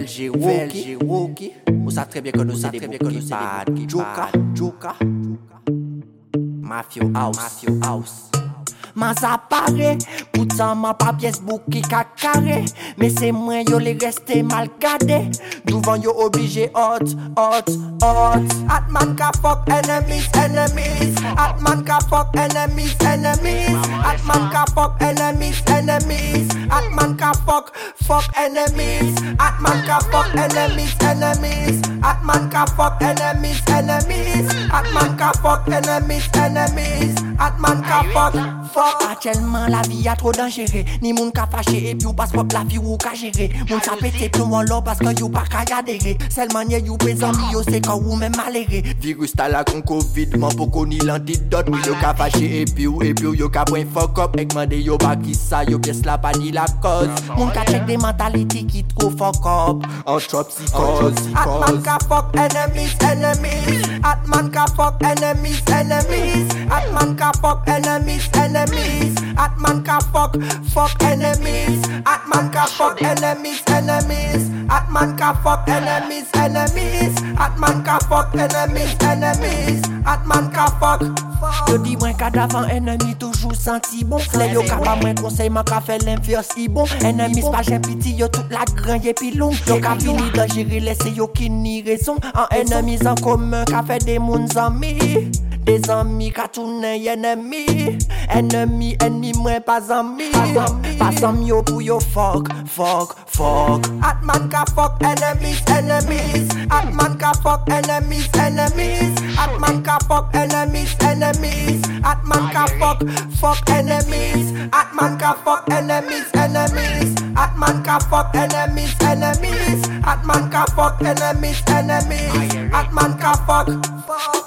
VLG Rookie. Vous savez très bien que nous sommes des bouquets Joka. Mafio House. Mas apparaît, pourtant ma pas pièce bouki carré. Mais c'est moi yo les resté mal gardé. Devant yo obligé hot. Atman ka fuck enemies. Atman ka fuck enemies. Atman ka fuck enemies. Atman ka fuck enemies. Atman ka fuck enemies. Atman ka fuck enemies. Atman ka fuck enemies. Atman ka fuck. Actuellement la vie a trop dangereux. Ni moun ka fâché et puis ou passe pas la vie ou ka gérer. Moun sa pété plus loin là parce que you pas ka adhérer. Seul manière you présent yo c'est quand ou même maléré. Virus ta la con Covid, man pour koni l'antidote. Oui yo ka fâché et puis yo ka point fuck up. Ek mande yo ba ki sa yo pièce la pas ni la cause. Moun ka check des mentalités qui trop fuck up. En trop psychose. Atman ka fuck enemies. Atman ka fuck enemies. Atman ka fuck enemies. Atman ka fuck enemies. Atman ka fuck enemies. Atman ka fuck enemies. Atman ka fuck enemies. Atman ka fuck. Yo dis moins qu'à d'avant ennemi toujours senti bon. Les yo ka pas moins conseil man ka fait l'inverse si bon. Ennemi pas j'ai pitié yo toute la grand et puis long. Yo ka fini de gérer laisser yo qui ni raison. En ennemis en commun ka fait des mouns amis. Des amis ka tourne ennemi. Ennemi moins pas amis. Pas amis yo pour yo fuck. Atman ka fuck enemies. Atman ka fuck enemies. Atman ka fuck enemies. Atman ka fuck enemies. Atman ka fuck enemies. Atman ka fuck enemies. Atman ka fuck enemies. Atman ka fuck.